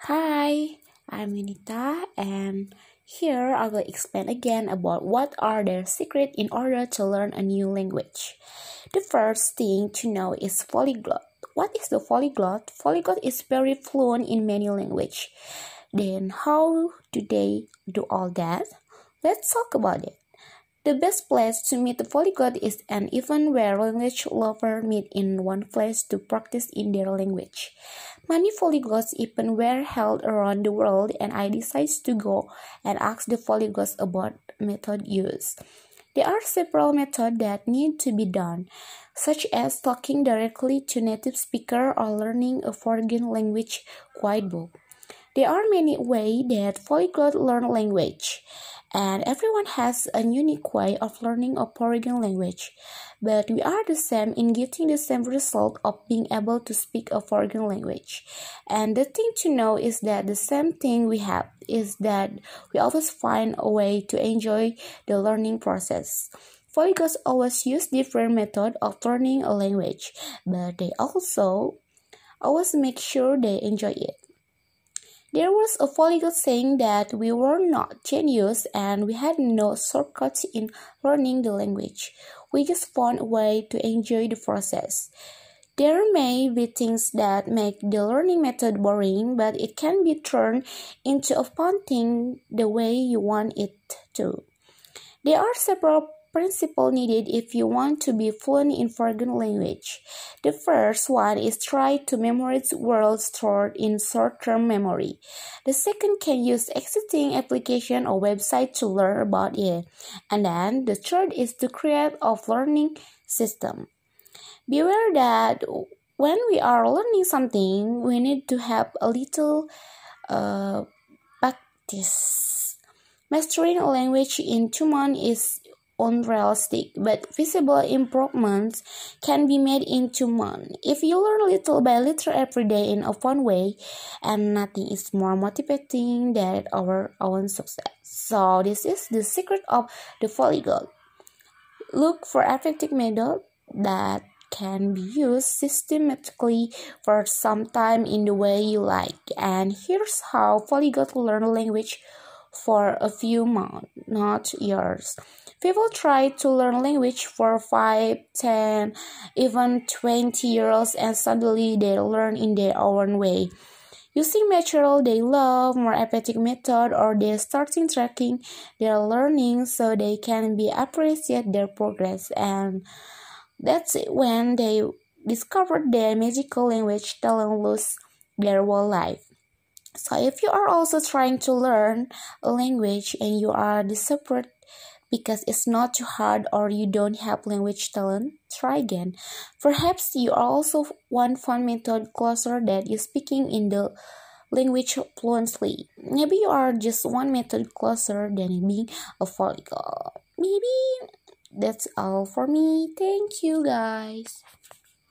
Hi, I'm Yunita, and here I will explain again about what are the secrets in order to learn a new language. The first thing to know is polyglot. What is the polyglot? Polyglot is very fluent in many languages. Then how do they do all that? Let's talk about it. The best place to meet a polyglot is an event where language lovers meet in one place to practice in their language. Many polyglots events were held around the world, and I decided to go and ask the polyglots about method used. There are several methods that need to be done, such as talking directly to native speaker or learning a foreign language quiet book. There are many ways that polyglots learn language, and everyone has a unique way of learning a foreign language. But we are the same in getting the same result of being able to speak a foreign language. And the thing to know is that the same thing we have is that we always find a way to enjoy the learning process. Polyglots always use different methods of learning a language, but they also always make sure they enjoy it. There was a polyglot saying that we were not genius and we had no shortcuts in learning the language. We just found a way to enjoy the process. There may be things that make the learning method boring, but it can be turned into a fun thing the way you want it to. There are several principles needed if you want to be fluent in foreign language. The first one is try to memorize words stored in short-term memory. The second can use existing application or website to learn about it. And then the third is to create a learning system. Beware that when we are learning something, we need to have a little practice. Mastering a language in 2 months is unrealistic, but visible improvements can be made in 2 months. If you learn little by little every day in a fun way, and nothing is more motivating than our own success. So this is the secret of the polyglot. Look for effective method that can be used systematically for some time in the way you like. And here's how polyglot learn language for a few months, not years. People try to learn language for 5, 10, even 20 years and suddenly they learn in their own way. Using material they love, more effective method, or they starting tracking their learning so they can be appreciate their progress. And that's when they discovered their magical language talent lose their whole life. So if you are also trying to learn a language and you are desperate because it's not too hard or you don't have language talent, try again. Perhaps you are also one fun method closer that you speaking in the language fluently. Maybe you are just one method closer than being a polyglot. Maybe that's all for me. Thank you guys.